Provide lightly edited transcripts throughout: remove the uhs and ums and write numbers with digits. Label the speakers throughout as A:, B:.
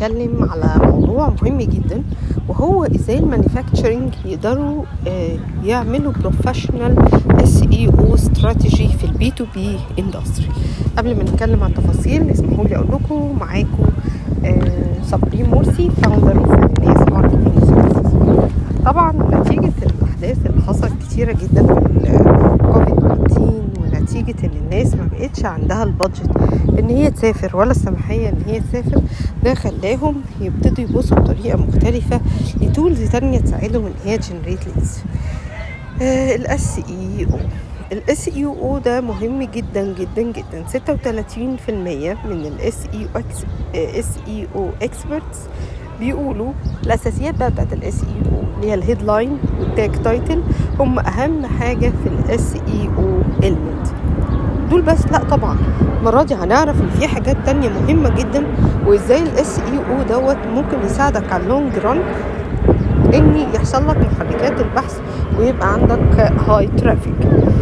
A: هنتكلم على موضوع مهم جدا، وهو ازاي المانيفاكتشرنج يقدروا يعملوا بروفيشنال SEO استراتيجي في البي تو بي اندستري. قبل ما نتكلم عن التفاصيل اسمحوا لي اقول لكم معاكم صابرين مرسي فاوندر اوف ناس ماركتنج سيرفيسز. طبعا نتيجه الاحداث اللي حصلت كتيره جدا في كوفيد 19 ونتيجه ان الناس ما بقتش عندها البادجت ان هي تسافر ولا السماحيه ان هي تسافر، ده خلاهم يبتدوا يبصوا بطريقه مختلفه لتولز تانية تساعدهم ان هي جنريت ليدز. الاس اي او ده مهم جدا جدا جدا. 36% من الاس اي او اكسبرتس بيقولوا الاساسيات بتاعت الاس اي او اللي هي الهيدلاين والتاج تايتل هم اهم حاجه في الاس اي او إلمنت دول. بس لا طبعا المره دي هنعرف ان في حاجات تانية مهمه جدا، وازاي الاس اي او دوت ممكن يساعدك على اللونج ران ان يحصل لك محركات البحث ويبقى عندك هاي ترافيك.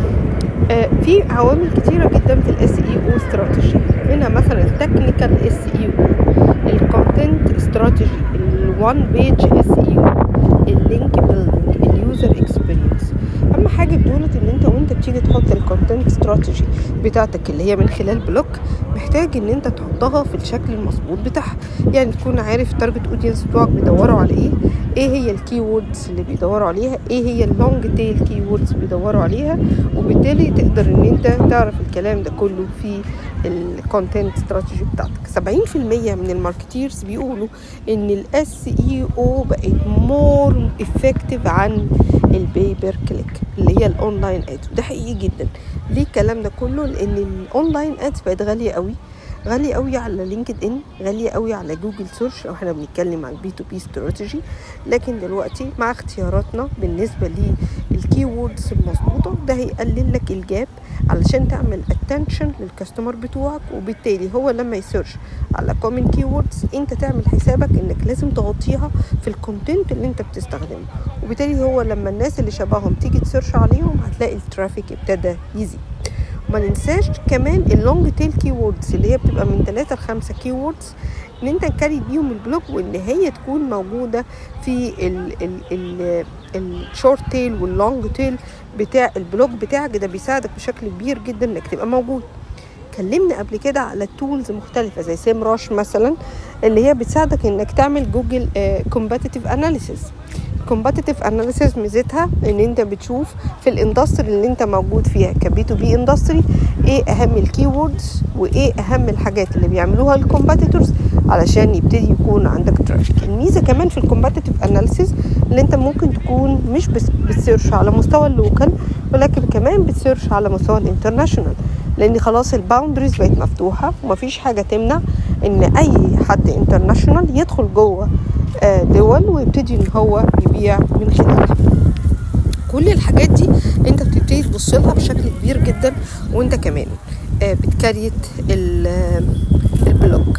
A: في عوامل كتيره جدا في الاس اي او استراتيجي، منها مثلا التكنيكال اس اي او، الكونتنت استراتيجي، الوان بيج اس اي او، اللينك بيلدينج، اليوزر اكسبيرينس. اهم حاجه بدولت ان انت وانت بتيجي تحط الكونتنت استراتيجي بتاعتك اللي هي من خلال بلوك، محتاج ان انت تحطها في الشكل المظبوط بتاعها. يعني تكون عارف التارجت اودينس بتوعك بيدوروا على ايه هي الكي ووردز اللي بيدوروا عليها، ايه هي اللونج تيل كي ووردز بيدوروا عليها، وبالتالي تقدر ان انت تعرف الكلام ده كله في الكونتنت استراتيجي بتاعتك. 70% من الماركتيرز بيقولوا ان الاس اي او بقت مور افكتيف عن البيبر كليك اللي هي الاونلاين ادز، وده حقيقي جدا. ليه الكلام ده كله؟ لان الاونلاين ادز بقت غاليه قوي على لينكد ان، غاليه قوي على جوجل سيرش لو احنا بنتكلم عن البي تو بي استراتيجي. لكن دلوقتي مع اختياراتنا بالنسبه للكي ووردز المظبوطه، ده هيقلل لك الجاب علشان تعمل اتنشن للكاستمر بتوعك، وبالتالي هو لما يسيرش على كومن كي ووردز انت تعمل حسابك انك لازم تغطيها في الكونتنت اللي انت بتستخدمه، وبالتالي هو لما الناس اللي شبههم تيجي تسيرش عليهم هتلاقي الترافيك ابتدى يزيد. ما ننساش كمان اللونج تيل كي ووردز اللي هي بتبقى من 3 ل 5 كي ووردز، ان انت تكري بيهم البلوج، وان هي تكون موجوده في الشورت تيل واللونج تيل بتاع البلوج بتاعك. ده بيساعدك بشكل كبير جدا انك تبقى موجود. اتكلمنا قبل كده على تولز مختلفه زي سيم راش مثلا، اللي هي بتساعدك انك تعمل جوجل كومباتيتيف اناليسيس. كومباتيتيف اناليسيس ميزتها ان انت بتشوف في الاندستري اللي انت موجود فيها كبي تو بي اندستري ايه اهم الكي ووردز وايه اهم الحاجات اللي بيعملوها الكومباتيتورز علشان يبتدي يكون عندك ترافيك. الميزه كمان في الكومباتيتيف اناليسيس اللي انت ممكن تكون مش بس بتسيرش على مستوى اللوكال، ولكن كمان بتسيرش على مستوى الانترناشونال، لان خلاص الباوندريز بقت مفتوحه ومفيش حاجه تمنع ان اي حد انترناشونال يدخل جوه دول ويبتدي ان هو يبيع من خلالها. كل الحاجات دي انت بتبتدي تبص لها بشكل كبير جدا وانت كمان بتكريت البلوج.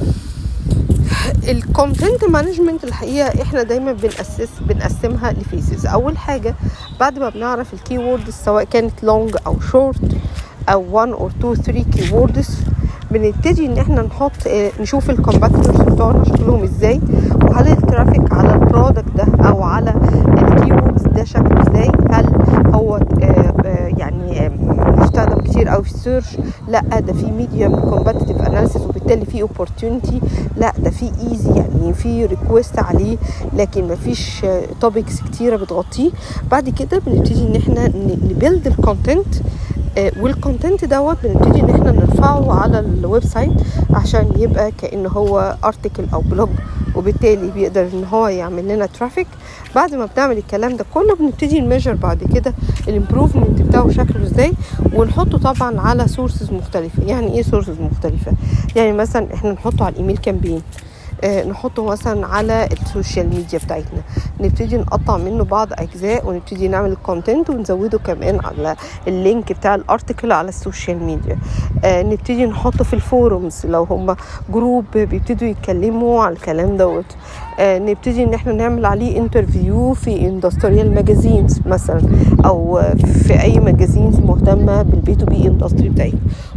A: الكونتنت مانجمنت الحقيقه احنا دايما بنقسمها لفيزز. اول حاجه بعد ما بنعرف الكي ووردز سواء كانت لونج او شورت او 1 or 2 3 كي ووردز، بنبتدي ان احنا نشوف الكومباتيتورز بتوعنا شكلهم ازاي، وهل الترافيك على البرودكت ده او على الكيوردز ده شكله ازاي، هل هو يعني مستخدم كتير او في السيرش، لا ده في ميديوم كومباتيتيف اناليسيس وبالتالي في اوبورتيونيتي، لا ده في ايزي يعني في ريكويست عليه لكن مفيش توبكس كتيره بتغطيه. بعد كده بنبتدي ان احنا نبيلد الكونتنت، والكونتنت دوت بنبتدي ان احنا نرفعه على الويب سايت عشان يبقى كأنه هو ارتكل او بلوج، وبالتالي بيقدر ان هو يعمل لنا ترافيك. بعد ما بنعمل الكلام ده كله بنبتدي نميجر بعد كده الامبروفمنت بتاعه شكله ازاي، ونحطه طبعا على سورسز مختلفه. يعني ايه سورسز مختلفه؟ يعني مثلا احنا نحطه على الايميل كامبين، نحطه مثلا على السوشيال ميديا بتاعتنا، نبتدي نقطع منه بعض اجزاء ونبتدي نعمل الكونتنت ونزوده كمان على اللينك بتاع الارتكل على السوشيال ميديا. نبتدي نحطه في الفورums لو هم جروب بيبتدوا يتكلموا على الكلام دوت. نبتدي ان احنا نعمل عليه انترفيو في اندستريال ماجازينز مثلا، او في اي ماجازينز مهتمه بالبي تو بي اندستري بتاعتنا.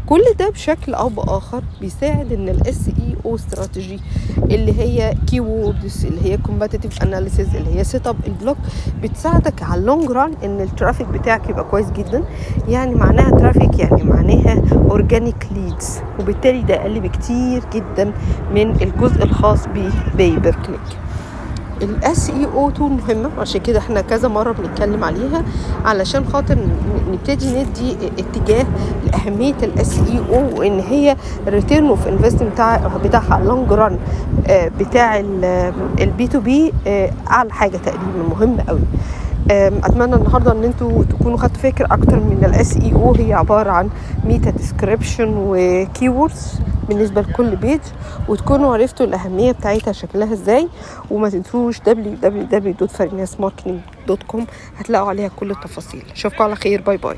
A: كل ده بشكل او باخر بيساعد ان الاس اي او استراتيجي اللي هي كي ووردز، اللي هي كومباتيتيف اناليسيز، اللي هي سيت اب البلوج، بتساعدك على اللونج ران ان الترافيك بتاعك يبقى كويس جدا. يعني معناها ترافيك يعني معناها اورجانيك ليدز، وبالتالي ده اقل بكتير جدا من الجزء الخاص بباي بير كليك. الاس اي او تول مهمه، عشان كده احنا كذا مره بنتكلم عليها علشان خاطر نبتدي ندي اتجاه لاهميه الاس اي او، وان هي الريتيرن اوف انفستمنت بتاعها اللونج ران بتاع البي تو بي اعلى حاجه تقريبا، مهمه قوي. اتمنى النهارده ان انتوا تكونوا خدتوا فكره اكتر من الاس اي او. هي عباره عن ميتا ديسكريبشن وكيوردز بالنسبه لكل بيج، وتكونوا عرفتوا الاهميه بتاعتها شكلها ازاي. وما تنسوش www.farinasmarketing.com هتلاقوا عليها كل التفاصيل. اشوفكم على خير، باي باي.